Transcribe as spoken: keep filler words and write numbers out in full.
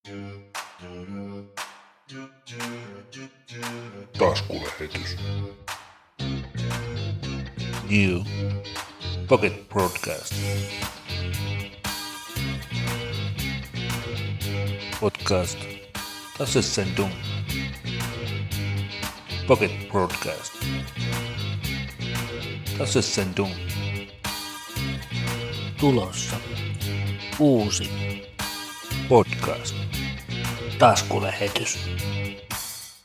Taskulähetys. New Pocket Broadcast. Podcast Tassesendung. Pocket Broadcast. Tassesendung. Tulossa uusi Podcast. taskulähetys.